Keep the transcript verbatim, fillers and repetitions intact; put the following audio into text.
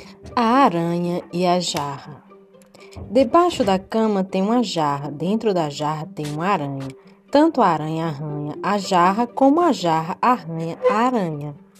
A aranha e a jarra. Debaixo da cama tem uma jarra, dentro da jarra tem uma aranha. Tanto a aranha arranha a jarra, como a jarra arranha a aranha.